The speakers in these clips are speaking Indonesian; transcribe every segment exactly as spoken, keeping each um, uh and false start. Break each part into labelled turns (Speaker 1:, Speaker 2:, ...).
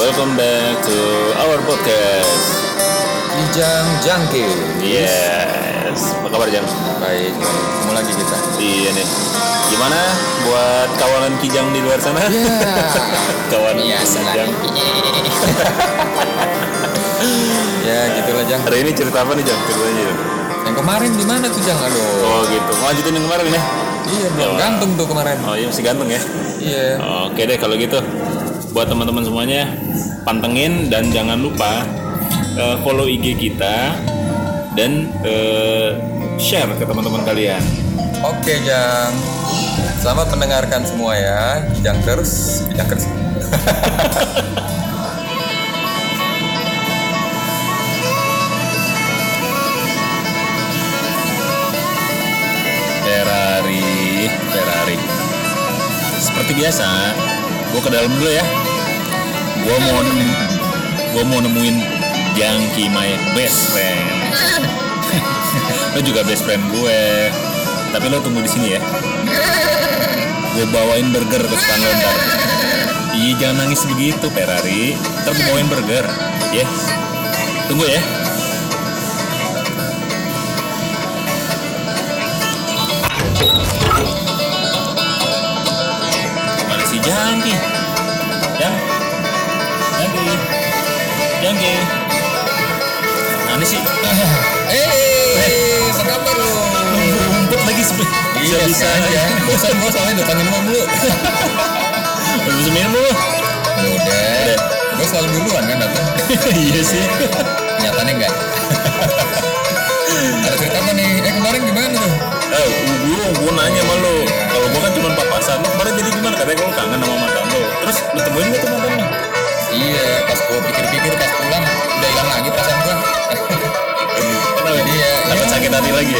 Speaker 1: welcome back to our podcast
Speaker 2: Kijang Jangki.
Speaker 1: Yes, apa kabar Jang?
Speaker 2: Baik, ketemu lagi kita.
Speaker 1: Iya nih, gimana buat kawanan Kijang di luar sana?
Speaker 2: Ya,
Speaker 1: Kawan
Speaker 2: biasa lah.
Speaker 1: Kijang.
Speaker 2: Ya, gitulah Jang.
Speaker 1: Hari ini cerita apa nih Jang? Ceritanya Jang?
Speaker 2: Yang kemarin di mana tuh Jang? Aduh.
Speaker 1: Oh gitu, mau lanjutin yang kemarin ya?
Speaker 2: Iya, belum
Speaker 1: Ya,
Speaker 2: gantung tuh kemarin.
Speaker 1: Oh iya masih gantung ya?
Speaker 2: Iya.
Speaker 1: Oke deh kalau gitu, buat teman-teman semuanya pantengin dan jangan lupa uh, follow I G kita dan uh, share ke teman-teman kalian.
Speaker 2: Oke Jang. Selamat mendengarkan semua ya. Kijang terus, kijang terus.
Speaker 1: Ferrari, Ferrari. Seperti biasa, gue ke dalam dulu ya. Gue mau nem- gue mau nemuin Jangki my best friend. Lo juga best friend gue. Tapi lo tunggu di sini ya. Gue bawain burger kesukaan lo ntar. Iya jangan nangis begitu Ferrari. Ntar gue bawain burger, ya. Tunggu ya. Mana si Jangki? Jang? Jangki? Jangki? Mana sih?
Speaker 2: Eh, apa kabar lu?
Speaker 1: Ngumpet lagi sebenernya.
Speaker 2: Iya, bisa aja. Bosan gua soalnya datangin lo dulu.
Speaker 1: Udah bisa minum lu?
Speaker 2: Udah. Gua selalu duluan kan datang.
Speaker 1: Iya sih.
Speaker 2: Nyatanya enggak. Ada cerita apa nih? Eh kemarin gimana tuh?
Speaker 1: Eh, gue gue nanya sama lu. Kalau gue kan cuma papasan. Lu kemarin jadi gimana? Katanya kalau kangen sama mantan lu. Terus lu temuin gak tuh mantan lu?
Speaker 2: Iya, pas gua pikir-pikir pas pulang udah hilang lagi perasaan gua.
Speaker 1: Kenapa?
Speaker 2: Iya,
Speaker 1: Takut
Speaker 2: iya.
Speaker 1: sakit hati lagi ya?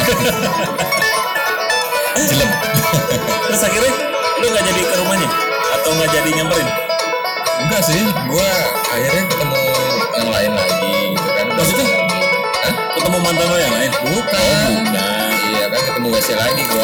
Speaker 2: Jelem.
Speaker 1: Terus akhirnya lu gak jadi ke rumahnya? Atau gak jadi nyamperin?
Speaker 2: Enggak sih, gua akhirnya ketemu yang lain lagi gitu kan.
Speaker 1: Maksudnya?
Speaker 2: Hah?
Speaker 1: Ketemu mantan lu yang lain?
Speaker 2: Bukan.
Speaker 1: Oh bukan.
Speaker 2: Iya kan ketemu W C lagi gua.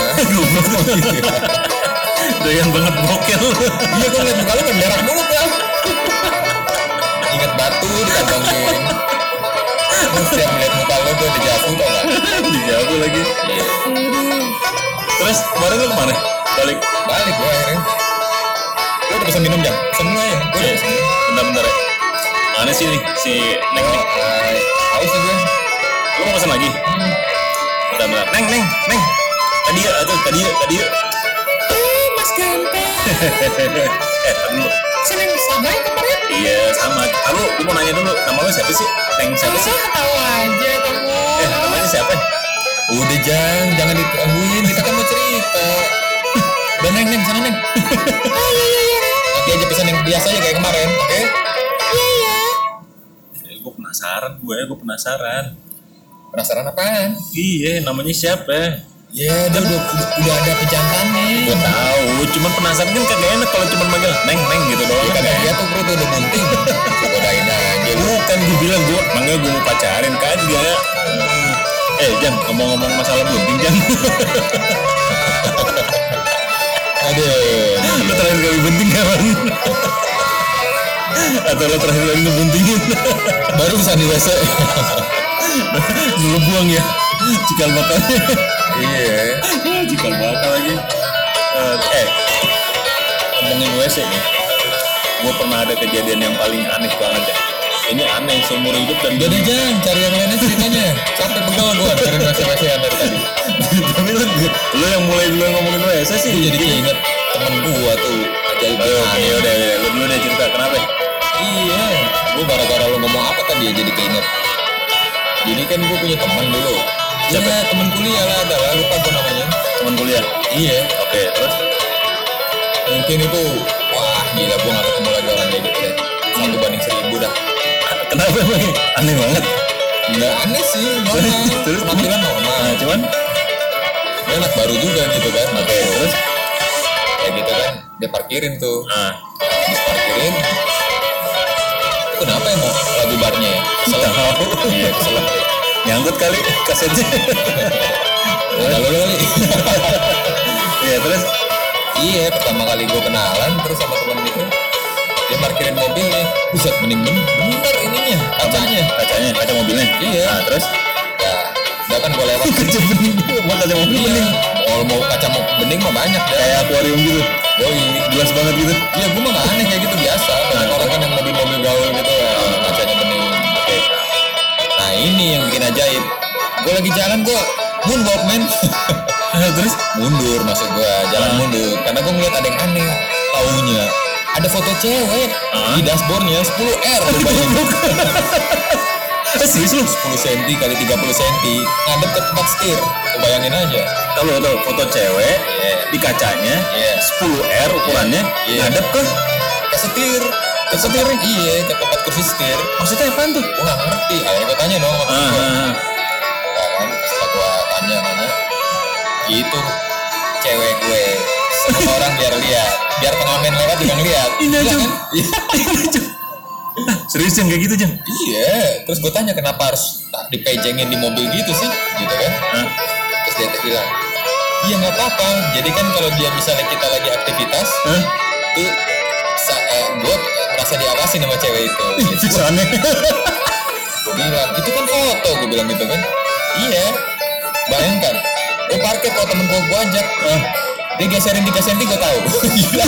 Speaker 1: Doyan banget bokel.
Speaker 2: Iya gua ngeliat muka lu kan merah mulu kan. Ingat batu dikantongin. Gua setiap ngeliat muka lu gua dejavu tau gak?
Speaker 1: Dijawab lagi.
Speaker 2: Iya.
Speaker 1: Terus kemarin lu kemana? Balik.
Speaker 2: Balik gua akhirnya. Gua udah pesan minum Jam. Semua ya. Gua udah
Speaker 1: Eh,
Speaker 2: pesan minum.
Speaker 1: bentar-bentar ya. Mana sih nih si Neng nih?
Speaker 2: Hai. Haus sih gue.
Speaker 1: Lu mau pesan lagi? Bentar-bentar. Neng, Neng, Neng. Tadi ya, tuh, tadi ya, tadi ya.
Speaker 3: Eh, Mas Ganteng.
Speaker 1: eh, tadi lu.
Speaker 3: Seneng sama ya kemarin?
Speaker 1: Iya, sama. Lalu, lu mau nanya dulu, nama lu siapa sih? Neng siapa sih?
Speaker 3: Ah, tahu aja kamu.
Speaker 1: Eh, namanya siapa?
Speaker 2: Udah Jang, jangan digangguin. Kita kan mau cerita. Udah Neng, Neng, sana Neng.
Speaker 3: Oh iya iya iya.
Speaker 2: Nanti aja pesan yang biasa aja kayak kemarin, oke?
Speaker 3: Iya iya.
Speaker 1: Eh, gue penasaran, gue, gue penasaran.
Speaker 2: Penasaran apaan?
Speaker 1: Iya, namanya siapa?
Speaker 2: Ya, dia udah, udah, udah ada pejantannya.
Speaker 1: Gue tahu, cuman penasaran kan kagak enak kalau cuman manggil Neng, Neng gitu doang.
Speaker 2: Ya kagak dia tuh perut udah bunting. Godain aja lu.
Speaker 1: Bukan gue bilang gue, manggil gue mau pacarin kagak. Eh, Jan, ngomong-ngomong masalah bunting, Jan.
Speaker 2: Aduh.
Speaker 1: Lo terakhir kali bunting kapan? Atau lo terakhir kali ngebuntingin?
Speaker 2: Baru bisa di W C.
Speaker 1: Dulu buang ya, cikal bakal.
Speaker 2: Iya.
Speaker 1: Cikal bakal lagi. Eh, eh, ngomongin W C nih, gue pernah ada kejadian yang paling aneh banget ya. Ini aneh seumur hidup dan
Speaker 2: Udah deh Jang, cari yang lainnya ceritanya. Sampai pegal gua cari W C-W C yang dari tadi.
Speaker 1: Tapi lu, lu yang mulai dulu ngomongin W C sih.
Speaker 2: Gue jadi keinget temen gua tuh ajaib
Speaker 1: Oh, oke,
Speaker 2: aneh.
Speaker 1: udah, udah, lu dulu deh cerita kenapa?
Speaker 2: Iya, gue gara-gara lo ngomong apa tadi ya jadi keinget. Jadi kan gue punya teman dulu.
Speaker 1: Siapa?
Speaker 2: Iya, teman kuliah lah, adalah lupa gue namanya.
Speaker 1: Teman kuliah.
Speaker 2: Iya,
Speaker 1: Oke, terus?
Speaker 2: mungkin itu wah gila gue gak ketemu lagi orang kayak gitu deh. Satu banding seribu dah.
Speaker 1: Kenapa emang? Aneh banget.
Speaker 2: Nggak aneh sih, normal.
Speaker 1: Terus?
Speaker 2: Penampilan normal.
Speaker 1: Nah, cuman?
Speaker 2: Dia anak baru juga gitu kan.
Speaker 1: Oke, terus?
Speaker 2: Kayak gitu kan, dia parkirin tuh.
Speaker 1: Nah,
Speaker 2: Habis parkirin, itu kenapa ya mau lagu barnya ya? Kesel.
Speaker 1: tahu.
Speaker 2: Iya, kesel.
Speaker 1: Nyangkut kali kasetnya.
Speaker 2: Udah lo kali.
Speaker 1: Iya, terus?
Speaker 2: Iya, pertama kali gue kenalan terus sama temen itu dia parkirin mobil mobilnya. Buset, bening bening bener ininya, kacanya.
Speaker 1: Kacanya, kaca mobilnya.
Speaker 2: Iya.
Speaker 1: Nah, terus
Speaker 2: Ya, udah kan gue lewat.
Speaker 1: kaca bening. Buat kaca mobil
Speaker 2: Iya.
Speaker 1: bening.
Speaker 2: Oh, mau kaca mau bening mah banyak dah.
Speaker 1: Kayak akuarium gitu.
Speaker 2: Yoi.
Speaker 1: Jelas banget gitu.
Speaker 2: Iya, gue mah gak aneh kayak gitu biasa. Banyak orang kan yang mobil-mobil gaul gitu ya, kacanya bening.
Speaker 1: Oke.
Speaker 2: Nah ini yang bikin ajaib. Gue lagi jalan gue moonwalk men.
Speaker 1: Terus
Speaker 2: Mundur maksud gue, jalan
Speaker 1: Ah.
Speaker 2: mundur. Karena gue ngeliat ada yang aneh. Taunya ada foto cewek
Speaker 1: Ah.
Speaker 2: di dashboardnya sepuluh R rupanya.
Speaker 1: eh serius lu?
Speaker 2: sepuluh senti kali tiga puluh senti ngadep ke tempat setir. Lu bayangin aja.
Speaker 1: Tahu tahu foto cewek
Speaker 2: Iya.
Speaker 1: di kacanya
Speaker 2: Iya.
Speaker 1: sepuluh R ukurannya
Speaker 2: Iya.
Speaker 1: ngadep ke
Speaker 2: Ke setir.
Speaker 1: ke setir.
Speaker 2: Iya, ke tempat kursi setir.
Speaker 1: Maksudnya apaan tuh?
Speaker 2: Gue gak ngerti. Akhirnya gue tanya dong sama
Speaker 1: Ah,
Speaker 2: temen gue.
Speaker 1: ah,
Speaker 2: Nah, kan setelah gue tanya-tanya, itu cewek gue. Semua orang biar lihat, biar pengamen lewat juga ngeliat.
Speaker 1: Ini
Speaker 2: Iya
Speaker 1: aja.
Speaker 2: kan? Iya.
Speaker 1: ah. Serius yang kayak gitu Jang?
Speaker 2: Iya. Terus gue tanya kenapa harus tak dipejengin di mobil gitu sih, gitu kan?
Speaker 1: Hah?
Speaker 2: Terus dia tuh bilang, iya nggak apa-apa. Jadi kan kalau dia misalnya kita lagi aktivitas,
Speaker 1: Hah?
Speaker 2: tuh sa- eh, gue merasa diawasi sama cewek itu. Gitu.
Speaker 1: Fix aneh.
Speaker 2: Gue bilang, itu kan foto, gue bilang gitu kan. Iya, bayangkan, gue parkir kalau temen gue, gue ajak,
Speaker 1: Ah,
Speaker 2: dia geserin tiga senti, gue tahu. Gila.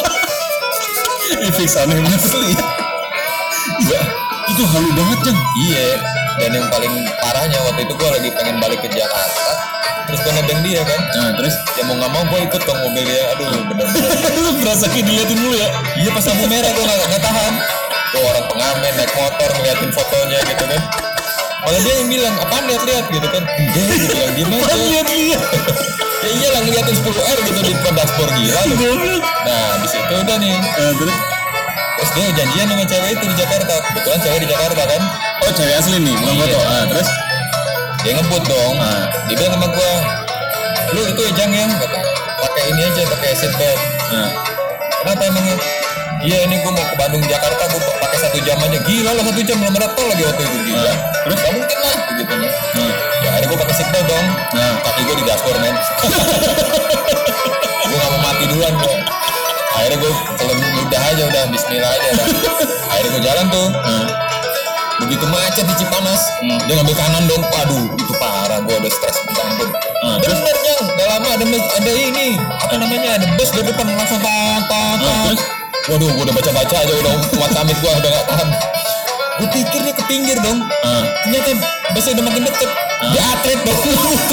Speaker 1: Ih, fix aneh bener.
Speaker 2: Asli.
Speaker 1: Gua, itu halu banget Jang.
Speaker 2: Iya, dan yang paling parahnya waktu itu gue lagi pengen balik ke Jakarta, terus gue nebeng dia kan.
Speaker 1: Nah terus
Speaker 2: Ya mau nggak mau gue ikut ke mobil dia, aduh bener-bener.
Speaker 1: lu berasa kayak diliatin dulu ya?
Speaker 2: Iya pas lampu merah gue nggak nggak tahan. Gue orang pengamen naik motor ngeliatin fotonya gitu kan. Malah dia yang bilang, apaan lihat-lihat gitu kan. Enggak, gue bilang gimana.
Speaker 1: Lihat-lihat.
Speaker 2: Ya iyalah ngeliatin sepuluh R gitu di depan dashboard gila lu.
Speaker 1: Goblok.
Speaker 2: Nah di situ udah nih.
Speaker 1: Nah terus
Speaker 2: Terus dia janjian sama cewek itu di Jakarta. Kebetulan cewek di Jakarta kan.
Speaker 1: oh cewek asli nih bukan
Speaker 2: Iya.
Speaker 1: foto. Ah terus
Speaker 2: Dia ngebut dong.
Speaker 1: Ah.
Speaker 2: Dia bilang sama gue, lu itu ya Jang ya, kata, pakai ini aja, pakai seat belt.
Speaker 1: nah
Speaker 2: Kenapa emangnya? Iya ini gue mau ke Bandung Jakarta, gue pakai satu jam aja. Gila lah satu jam belum ada tol lagi waktu itu gila.
Speaker 1: Ah. Terus?
Speaker 2: Gak mungkin lah gitu kan.
Speaker 1: nah
Speaker 2: Ya akhirnya gue pakai seat belt dong.
Speaker 1: Nah.
Speaker 2: Kaki gue di dashboard men. Gue gak mau mati duluan gue. Akhirnya gue kalau udah aja udah Bismillah aja dah. Akhirnya gue jalan tuh.
Speaker 1: nah
Speaker 2: Begitu macet di Cipanas,
Speaker 1: Hmm.
Speaker 2: dia ngambil kanan dong. Waduh, itu parah. Gue udah stres minta ampun.
Speaker 1: Ah, terus?
Speaker 2: Bener Jang, gak lama ada mes- ada ini apa namanya ada bus di depan langsung tat tat
Speaker 1: Ah,
Speaker 2: tat.
Speaker 1: terus?
Speaker 2: Waduh, gue udah baca baca aja udah kuat amit gue udah gak tahan. Gue pikir dia ke pinggir dong.
Speaker 1: Ah.
Speaker 2: Ternyata busnya udah makin deket. Dia atlet dong.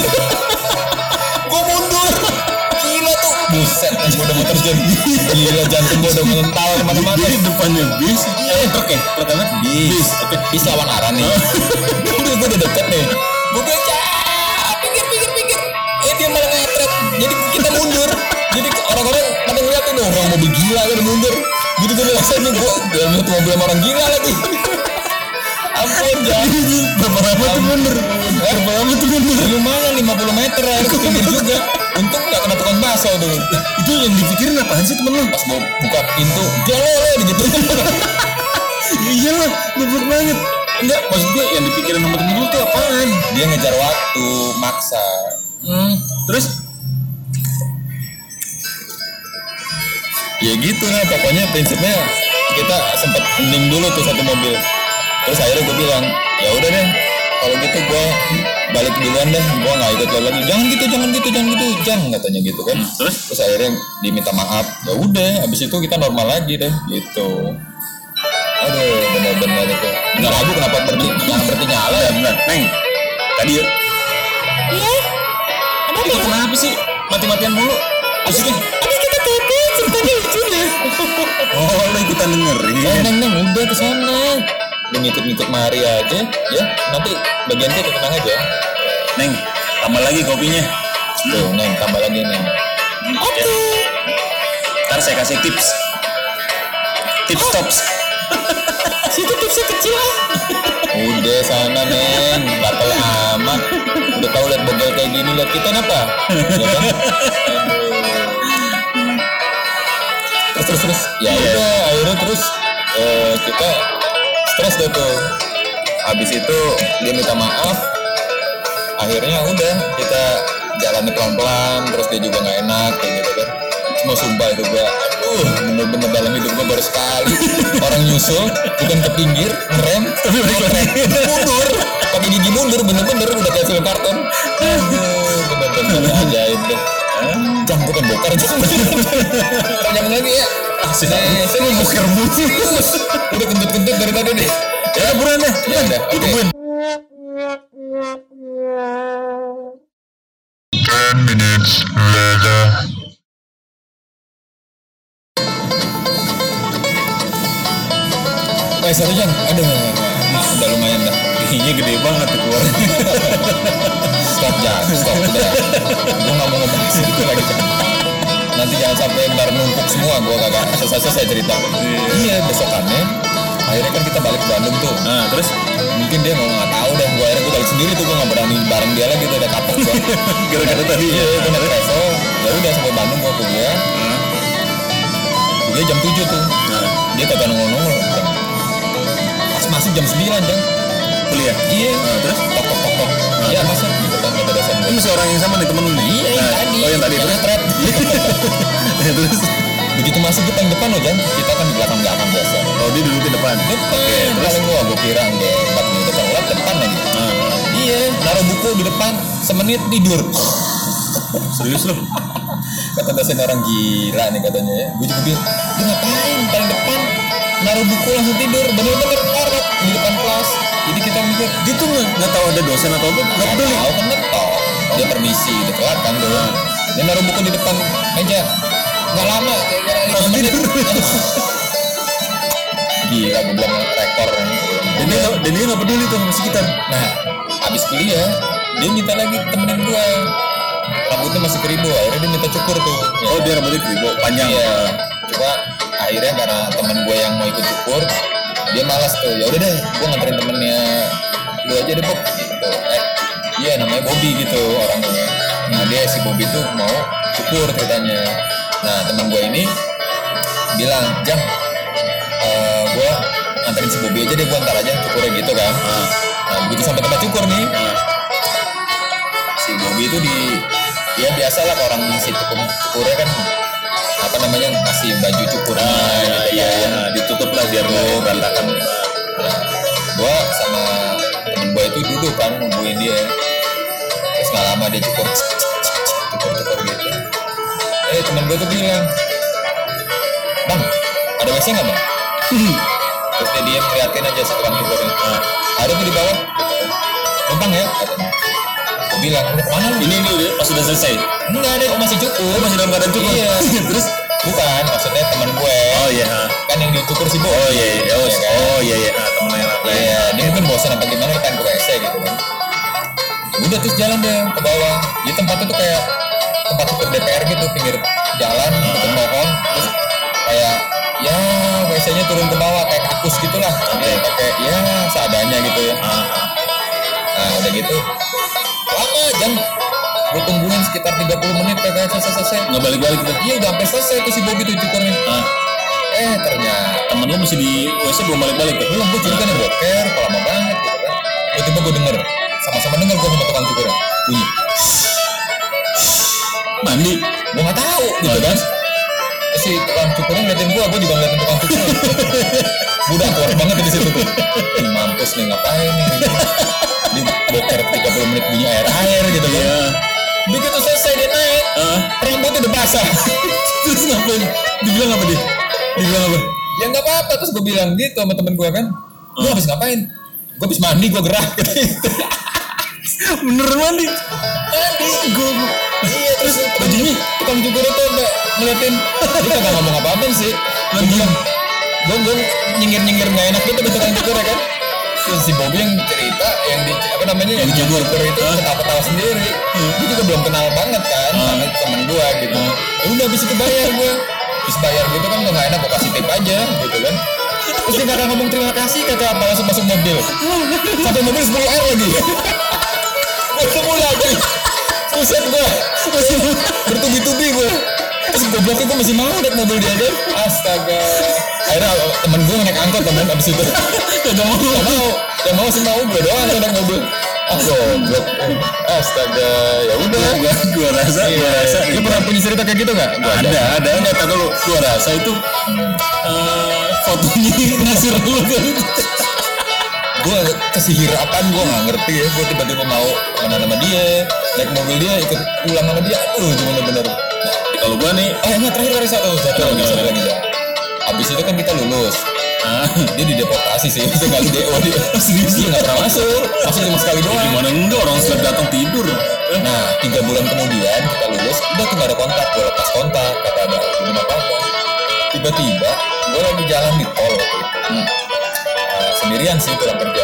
Speaker 2: Gue mundur. Gila tuh. Buset, gue udah mau terjun. Gila jantung gue udah mengental kemana-mana.
Speaker 1: Jadi depannya bis, eh truk ya, truk apa?
Speaker 2: Bis, oke, bis lawan arah nih. Udah gue udah deket nih. Gue bilang, "Cah, pinggir, pinggir, pinggir." Eh dia malah ngetret. Jadi kita mundur. Jadi orang-orang pada ngeliatin dong, orang mobil gila kan mundur. Gitu tuh rasanya nih gue dalam satu mobil sama orang gila lagi. Ampun, jangan.
Speaker 1: Berapa lama tuh mundur? Berapa lama tuh mundur?
Speaker 2: Lumayan lima puluh meter akhirnya ke pinggir juga. Untung gak kena tukang bakso tuh.
Speaker 1: Itu yang dipikirin apaan sih temen lu?
Speaker 2: Pas mau buka pintu, dia lo gitu.
Speaker 1: Iya lah, goblok banget. Enggak, maksud gue yang dipikirin sama temen lu tuh apaan?
Speaker 2: Dia ngejar waktu, maksa.
Speaker 1: Hmm, terus?
Speaker 2: Ya gitu lah, pokoknya prinsipnya kita sempat hening dulu tuh satu mobil. Terus akhirnya gue bilang, ya udah deh, kalau gitu gue balik duluan deh, gue nggak ikut lo lagi. Jangan gitu, jangan gitu, jangan gitu, jangan katanya gitu kan.
Speaker 1: Terus?
Speaker 2: Terus akhirnya diminta maaf. Ya udah, habis itu kita normal lagi deh, gitu. Aduh, benar-benar itu. Benar aku kenapa berhenti, jangan berhenti nyala ya.
Speaker 1: Benar, Neng. Tadi ya,
Speaker 3: Iya. Ada
Speaker 1: itu
Speaker 3: apa?
Speaker 1: kenapa sih? Mati-matian mulu. Maksudnya?
Speaker 3: Abis kita kepo ceritanya lucu nih.
Speaker 1: Oh, lu ikutan dengerin.
Speaker 2: Eh, neng, neng, udah ke sana. Lu ngikut-ngikut mari aja, ya. Nanti bagian kita tenang aja.
Speaker 1: Neng, tambah lagi kopinya.
Speaker 2: Tuh, neng, tambah lagi neng.
Speaker 3: Oke.
Speaker 1: Ntar saya kasih tips. Tips tops.
Speaker 3: Situ tipsnya kecil ah.
Speaker 2: Udah sana neng, batal amat. Udah tahu lihat bogel kayak gini, lihat kita apa? Ya kan? Aduh. Terus terus terus. Ya
Speaker 1: Iya.
Speaker 2: udah, akhirnya terus eh, kita stres deh tuh. Habis itu dia minta maaf. Akhirnya udah kita jalannya pelan-pelan. Terus dia juga nggak enak kayak gitu kan. Cuma sumpah itu gua, aduh Uh, bener-bener dalam hidup gue baru sekali orang nyusul, bukan ke pinggir, ngerem,
Speaker 1: Tapi balik lagi.
Speaker 2: mundur, pakai gigi mundur, bener-bener udah kayak film kartun. Aduh, bener-bener ajaib deh. Jam bukan bokar, jam jangan lagi ya.
Speaker 1: Asik.
Speaker 2: Sini, sini,
Speaker 1: Bokar mulu.
Speaker 2: udah kentut-kentut dari tadi deh.
Speaker 1: Ya buruan deh.
Speaker 2: Ya udah, oke.
Speaker 1: Tungguin.
Speaker 4: Ten minutes later.
Speaker 2: Eh, sorry Jan, aduh, udah lumayan dah.
Speaker 1: Giginya gede banget tuh keluar.
Speaker 2: Stop Jan, stop udah. Gue nggak mau ngomong segitu lagi. Nanti jangan sampai ntar numpuk semua, gue kagak selesai saya cerita. Iya, besokannya akhirnya kan kita balik ke Bandung tuh.
Speaker 1: Nah, terus
Speaker 2: Mungkin dia mau nggak tahu deh, gue akhirnya gue balik sendiri tuh, gue nggak berani bareng dia lagi, tuh udah kapok gue.
Speaker 1: gara-gara tadi
Speaker 2: Iya,
Speaker 1: ya.
Speaker 2: gue naik travel, ya udah sampai Bandung gue kuliah.
Speaker 1: Nah,
Speaker 2: Kuliah jam tujuh tuh,
Speaker 1: nah,
Speaker 2: dia kagak nongol-nongol. Pas masih jam sembilan kan.
Speaker 1: kuliah.
Speaker 2: Iya.
Speaker 1: Nah, terus
Speaker 2: Tok tok tok tok. Iya masuk di depan kata dosen
Speaker 1: ini
Speaker 2: gue.
Speaker 1: masih orang yang sama nih temen lu nih.
Speaker 2: Iya yang
Speaker 1: Nah,
Speaker 2: tadi.
Speaker 1: Oh yang tadi
Speaker 2: yang
Speaker 1: terus.
Speaker 2: ngetret.
Speaker 1: Ya, terus.
Speaker 2: Begitu masuk depan depan loh Jan. Kita kan di belakang belakang biasa.
Speaker 1: Oh dia duduk di depan.
Speaker 2: Depan.
Speaker 1: Oke, terus.
Speaker 2: Paling gua gua kira nggak empat menit telat depan lagi.
Speaker 1: Nah,
Speaker 2: Iya. Naruh buku di depan semenit tidur.
Speaker 1: serius lu?
Speaker 2: Kata dosen orang gila nih katanya ya. Gue juga bilang, dia ngapain paling depan naruh buku langsung tidur. Bener-bener ngorok di depan kelas. Jadi kita mikir,
Speaker 1: Dia tuh nggak nggak tahu ada dosen atau apa. Nggak
Speaker 2: nggak
Speaker 1: peduli.
Speaker 2: tahu kan ngetok. Dia permisi, udah telat kan dulu. Dia naruh buku di depan meja. Nggak lama, kayak lima menit. Gila, gue bilang rekor.
Speaker 1: Dan dia nggak- dan dia nggak peduli tuh sama sekitar.
Speaker 2: Nah, abis kuliah, dia minta lagi temenin gua. Rambutnya masih keribu, akhirnya dia minta cukur tuh. Ya.
Speaker 1: Oh dia rambutnya kribo panjang.
Speaker 2: Iya. Coba akhirnya karena temen gue yang mau ikut cukur, dia malas tuh. Ya udah deh, gue nganterin temennya lu aja deh Bob. Gitu. Eh, iya namanya Bobby gitu orangnya. Nah dia si Bobby tuh mau cukur ceritanya. Nah temen gue ini bilang, Jang, eh gue nganterin si Bobby aja deh, gue antar aja cukurnya gitu kan.
Speaker 1: Ah,
Speaker 2: Nah begitu sampai tempat cukur nih,
Speaker 1: ah.
Speaker 2: si Bobby itu di ya biasa lah orang si cukur cukurnya kan apa namanya kasih baju cukur
Speaker 1: Ah, iya, iya, iya. Ditutup lah biar nggak berantakan.
Speaker 2: Nah, gua sama temen gua itu duduk kan nungguin dia, terus nggak lama dia cukur cukur cukur gitu. Eh temen gua tuh bilang, Bang ada W C nggak bang? Terus dia diam ngeliatin aja si tukang cukurnya.
Speaker 1: Ah.
Speaker 2: Ada tuh di bawah, numpang ya katanya. Gua bilang, "Lu kemana lu?"
Speaker 1: Ini ini udah pas sudah selesai.
Speaker 2: Enggak ada, masih cukur.
Speaker 1: Oh, masih dalam keadaan cukur.
Speaker 2: Iya.
Speaker 1: Terus?
Speaker 2: Bukan, maksudnya teman gue.
Speaker 1: Oh iya. ah.
Speaker 2: Kan yang dicukur si Bo.
Speaker 1: Oh iya iya. Oh,
Speaker 2: Iya kan?
Speaker 1: oh iya iya. Ah, temen yang lain.
Speaker 2: Iya, dia mungkin bosan apa gimana pengen ke W C gitu kan. Udah terus jalan deh ke bawah. Jadi tempatnya tuh kayak tempat cukur D P R gitu, pinggir jalan, dekat pohon. Terus kayak ya W C-nya turun ke bawah kayak kakus gitulah. Dia pakai ya seadanya gitu ya.
Speaker 1: Ah, ah.
Speaker 2: Nah udah gitu lama jam gue tungguin sekitar tiga puluh menit kagak selesai-selesai.
Speaker 1: Nggak balik-balik tuh.
Speaker 2: Iya udah sampai selesai tuh si Bobby tuh cukurnya.
Speaker 1: Ah,
Speaker 2: Eh ternyata
Speaker 1: temen lu masih di W C belum balik-balik tuh.
Speaker 2: belum, gue curiga nih boker kok lama banget gitu kan. Tiba-tiba gue denger, sama-sama denger gue sama tukang cukurnya bunyi.
Speaker 1: Mandi.
Speaker 2: Gue nggak tahu gitu
Speaker 1: Oh,
Speaker 2: kan.
Speaker 1: terus?
Speaker 2: Terus si tukang cukurnya ngeliatin gue, gue juga ngeliatin tukang cukurnya. Gue udah keluar banget di situ tuh. Ih, mampus nih ngapain nih? Di boker tiga puluh menit bunyi air-air gitu kan.
Speaker 1: Iya.
Speaker 2: Begitu selesai dia naik,
Speaker 1: Ah,
Speaker 2: rambutnya udah basah.
Speaker 1: terus ngapain? Dibilang apa dia? Dibilang apa?
Speaker 2: Ya nggak apa-apa, terus gue bilang gitu sama temen gue kan. Lu habis ngapain? Gue habis mandi, gue gerak.
Speaker 1: Beneran mandi.
Speaker 2: Mandi, gue. Iya, terus bajunya tukang cukur itu udah ngeliatin. Dia kagak ngomong apa-apa sih. Gue bilang, gue gue nyinggir nyinggir nggak enak gitu ke tukang cukur ya kan. Terus si Bobby yang cerita, yang di apa namanya yang
Speaker 1: Yang cukur.
Speaker 2: cukur itu
Speaker 1: Hah?
Speaker 2: ketawa-ketawa sendiri. Gue juga belum kenal banget kan, sama temen gue gitu. Ya udah habis itu bayar gue. Habis bayar gitu kan gue nggak enak, gue kasih tip aja gitu kan. Terus dia kagak ngomong terima kasih, kagak apa langsung masuk mobil. Sampai mobil sepuluh air lagi. Gue ketemu lagi. Buset gue, masih bertubi-tubi gue. Terus gobloknya gue masih mau naik mobil dia kan. Astaga. Akhirnya temen gue naik angkot temen abis itu. Gak mau, gak mau. Gak mau sih mau gue doang yang naik mobil. Ah goblok. Astaga, ya udah.
Speaker 1: Gua, gua rasa, gua
Speaker 2: Iya.
Speaker 1: rasa.
Speaker 2: Lu pernah punya cerita kayak gitu nggak? Gua
Speaker 1: ada, ada, ada. Kata lu, gua rasa itu eh, fotonya Nasir lu kan.
Speaker 2: Gue kesihirapan, gue nggak ngerti ya. Gue tiba-tiba mau kemana sama dia, naik mobil dia, ikut pulang sama dia. Aduh, itu bener-bener.
Speaker 1: Kalau gua nih,
Speaker 2: Eh, enggak, terakhir kali satu, satu lagi, satu lagi ya. Abis itu kan kita lulus.
Speaker 1: ah,
Speaker 2: Dia dideportasi sih, itu kali D O dia. Serius, dia nggak pernah masuk. Masuk cuma sekali doang.
Speaker 1: gimana enggak orang seleb datang tidur.
Speaker 2: Nah, tiga bulan kemudian kita lulus, udah tuh nggak ada kontak. Gue lepas kontak, kata ada belum apa-apa. Tiba-tiba, gue lagi jalan di tol waktu itu.
Speaker 1: Hmm.
Speaker 2: Nah, sendirian sih pulang kerja.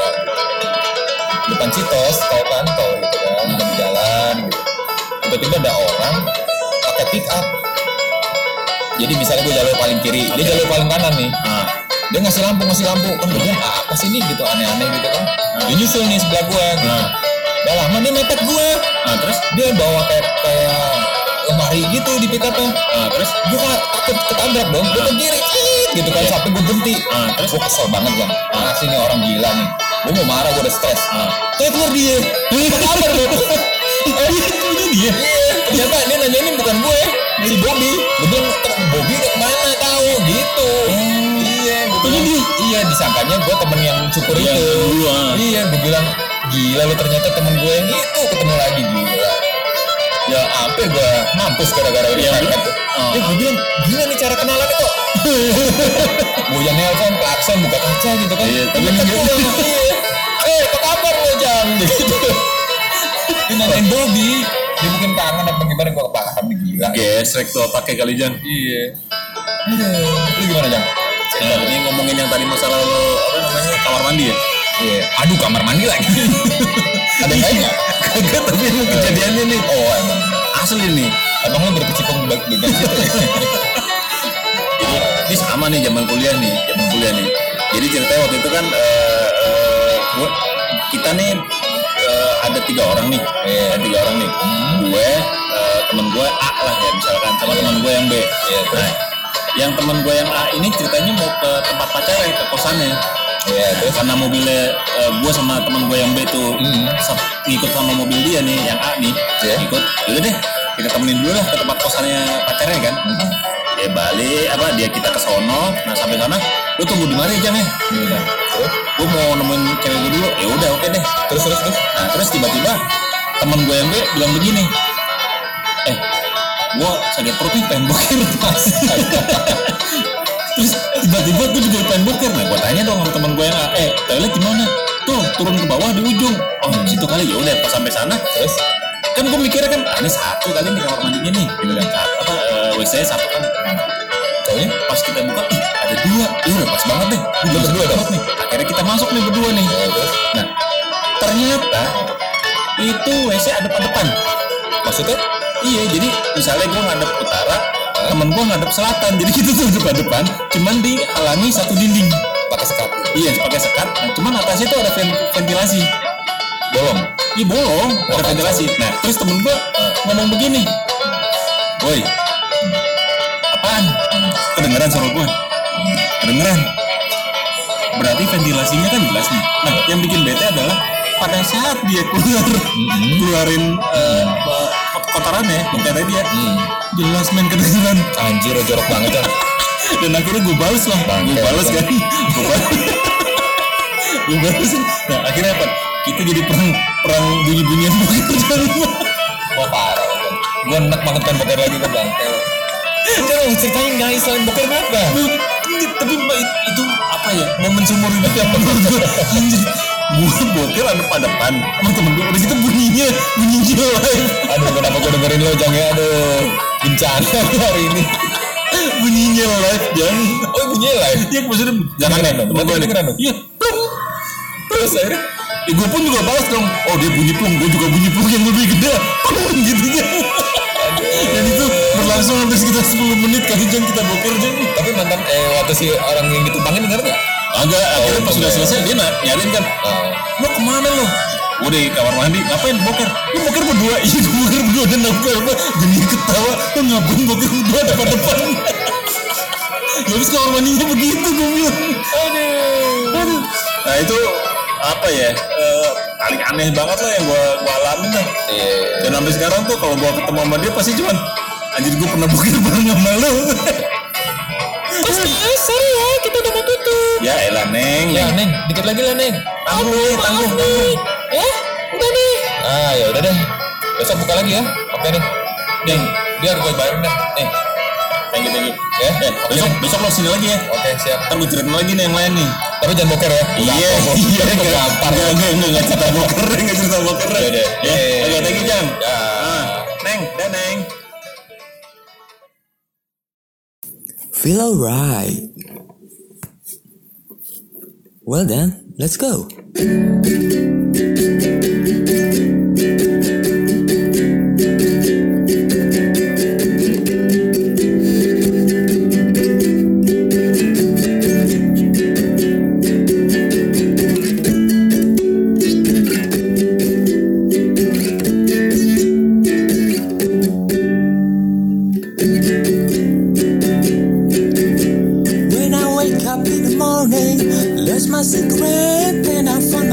Speaker 2: Depan Citos, tol kan, tol gitu kan, lagi jalan gitu. Tiba-tiba ada orang pakai pick up. Jadi misalnya gue jalur paling kiri, dia jalur paling kanan nih.
Speaker 1: Ah,
Speaker 2: Dia ngasih lampu, ngasih lampu. Kan gue bilang, apa sih ini gitu, aneh-aneh gitu kan. Dia nyusul nih sebelah gue gitu.
Speaker 1: Nah.
Speaker 2: Udah lama dia mepet gue.
Speaker 1: ah, terus,
Speaker 2: Dia bawa kayak kayak lemari gitu di pick up-nya.
Speaker 1: ah, terus,
Speaker 2: Gue kan takut ketabrak dong. Gue ke kiri, ciit, gitu kan, sampai gue berhenti.
Speaker 1: ah, terus,
Speaker 2: Gue kesel banget bang. Ah, sih nih orang gila nih. Gue mau marah, gue udah stres.
Speaker 1: ah,
Speaker 2: Kayak keluar dia. Apa kabar bro? Eh,
Speaker 1: itu dia.
Speaker 2: Iya, ternyata dia nanya ini bukan gue, si Bobby. Gue bilang, Bobby kemana tahu gitu. Iya, gue bilang, iya disangkanya gue temen yang cukur
Speaker 1: Iya,
Speaker 2: itu.
Speaker 1: dulu, ah.
Speaker 2: Iya, gue bilang, gila lu ternyata temen gue yang itu ketemu lagi gila. Ya hampir gue mampus gara-gara ini.
Speaker 1: Iya,
Speaker 2: Iya,
Speaker 1: oh.
Speaker 2: ya, gue bilang, gila nih cara kenalan kok. Gue yang nelpon, klakson, buka kaca gitu kan.
Speaker 1: Iya, tapi
Speaker 2: Tapi
Speaker 1: enggak.
Speaker 2: iya. Eh, apa kabar lo Jam? Gitu. Dia nanyain Bobby. Dia mungkin kangen apa gimana, gue kepaham nih gila.
Speaker 1: Gesrek tuh pakai kali Jan.
Speaker 2: Iya. Aduh. Lu gimana Jam?
Speaker 1: Nah, ini ngomongin yang tadi masalah lo apa namanya kamar mandi ya?
Speaker 2: Iya. Aduh, kamar mandi lagi. Ada kayaknya?
Speaker 1: Kagak, tapi emang kejadiannya nih.
Speaker 2: Oh, emang.
Speaker 1: Asli nih.
Speaker 2: Emang lu berkecimpung di bagian situ ya?
Speaker 1: Jadi ini sama nih zaman kuliah nih, zaman kuliah nih. Jadi ceritanya waktu itu kan eh, eh, gua, kita nih eh, ada tiga orang nih,
Speaker 2: Iya.
Speaker 1: ada tiga orang nih. Gue, eh, temen gue A lah ya misalkan, sama temen gue yang B.
Speaker 2: Iya, terus?
Speaker 1: Nah, yang temen gue yang A ini ceritanya mau ke tempat pacarnya, ke kosannya.
Speaker 2: Iya, terus?
Speaker 1: Karena mobilnya eh, gue sama temen gue yang B tuh
Speaker 2: Hmm.
Speaker 1: sab- ngikut sama mobil dia nih, yang A nih,
Speaker 2: Iya.
Speaker 1: ngikut. Yaudah deh, kita temenin dulu lah ke tempat kosannya pacarnya kan. Ya balik, apa dia kita ke sono. Nah sampai sana, lu tunggu di mana ya Jam ya?
Speaker 2: Iya. Terus?
Speaker 1: Gue mau nemuin cewek gue dulu. Ya udah oke deh.
Speaker 2: Terus, terus, terus?
Speaker 1: Nah terus tiba-tiba temen gue yang B bilang begini, eh, gue sakit perut nih, pengen boker. Terus tiba-tiba gue juga pengen boker. Nah gue tanya dong sama temen gue yang A, eh toilet di mana? Tuh turun ke bawah di ujung. Oh di situ kali. Ya udah pas sampai sana,
Speaker 2: Terus?
Speaker 1: kan gue mikirnya kan, ah, ini satu kali nih kamar mandinya nih, gitu kan. Satu, apa eh, W C satu kan.
Speaker 2: Taunya?
Speaker 1: Pas kita buka, ih ada dua. Ya udah pas banget deh. Udah berdua dong nih. Akhirnya kita masuk nih berdua nih.
Speaker 2: Ya, terus?
Speaker 1: Nah ternyata itu W C ada depan.
Speaker 2: Maksudnya?
Speaker 1: Iya, jadi misalnya gue ngadep utara, temen gue ngadep selatan. Jadi kita tuh depan-depan, cuman dihalangi satu dinding.
Speaker 2: Pakai sekat.
Speaker 1: Iya, pakai sekat. Nah, cuman atasnya tuh ada ven- ventilasi.
Speaker 2: Bolong.
Speaker 1: Iya bolong, ada
Speaker 2: kacau.
Speaker 1: ventilasi. Nah, terus temen gue ngomong begini, woi, apaan? Kedengeran suara gue? Kedengeran. Berarti ventilasinya kan jelas nih. Nah, yang bikin bete adalah pada saat dia keluar, keluarin eh, kotorannya, kotorannya dia,
Speaker 2: Hmm.
Speaker 1: jelas main kedengeran.
Speaker 2: Anjir, jorok banget kan.
Speaker 1: Dan akhirnya gue balas lah, gue
Speaker 2: Bangke,
Speaker 1: balas kan, gue balas, gue balas. Nah akhirnya apa? Kita jadi perang perang bunyi-bunyian boker.
Speaker 2: Wah parah kan. Gue enak banget kan boker lagi ke bangke. Udah lo ceritain guys, selain boker apa?
Speaker 1: Tapi mbak itu apa ya? Momen seumur hidup yang menurut gue anjir. Gue boker ada pada depan sama temen gue. Udah gitu bunyinya bunyinya live.
Speaker 2: Aduh, kenapa gue dengerin lo Jang ya? Aduh, bencana hari ini.
Speaker 1: Bunyinya live Jang.
Speaker 2: Oh bunyinya live?
Speaker 1: Iya maksudnya jangan
Speaker 2: Kedengeran
Speaker 1: nih
Speaker 2: dong,
Speaker 1: temen gue nih.
Speaker 2: kedengeran dong.
Speaker 1: Iya plung.
Speaker 2: Terus akhirnya?
Speaker 1: Ya gue pun juga balas dong. Oh dia bunyi plung, gue juga bunyi plung yang lebih gede. Plung gitu ya. Dan itu berlangsung hampir sekitar sepuluh menit kali Jang kita boker Jang.
Speaker 2: Tapi mantan eh waktu si orang yang ditumpangin denger nggak?
Speaker 1: Agak akhirnya pas sudah
Speaker 2: bener.
Speaker 1: selesai dia na- nyariin kan.
Speaker 2: Oh.
Speaker 1: Lo kemana lo? Gue di kamar mandi, ngapain boker? Lo boker berdua? Iya gue boker berdua dan aku apa? Jadi ketawa, lo ngapain boker berdua depan-depan? Habis kamar mandinya begitu gue bilang. Aduh. Nah itu apa ya? Eh, paling aneh banget lah yang gue gue alamin lah.
Speaker 2: Iya.
Speaker 1: Dan sampai sekarang tuh kalau gue ketemu sama dia pasti cuman anjir gue pernah bukit bareng sama lu.
Speaker 3: Mas, mas, sorry ya, kita udah mau tutup.
Speaker 1: Ya elah Neng.
Speaker 2: Ya Neng, dikit lagi lah Neng.
Speaker 1: Tangguh nih, tangguh,
Speaker 3: Maaf
Speaker 1: tangguh.
Speaker 3: nih. Ya, udah nih.
Speaker 2: Ah ya udah deh. Besok buka lagi ya. Oke nih. Neng, biar gue bayarin dah. Nih.
Speaker 1: Thank you, thank you.
Speaker 2: Ya.
Speaker 1: Eh, besok besok lo sini lagi ya.
Speaker 2: Oke siap.
Speaker 1: Ntar gue ceritain lagi nih yang lain nih.
Speaker 2: Tapi jangan boker ya.
Speaker 1: Iya,
Speaker 2: Gampang,
Speaker 1: iya,
Speaker 2: Gue
Speaker 1: enggak,
Speaker 2: gampar.
Speaker 1: enggak, enggak, enggak, enggak cerita boker, enggak cerita boker.
Speaker 2: Ya udah.
Speaker 1: Ya, oke, thank you Jang.
Speaker 2: Ya.
Speaker 1: Ah, Neng, dah Neng.
Speaker 5: Feel alright. Well then, let's go. When I wake up in the morning, lost my cigarette, and I find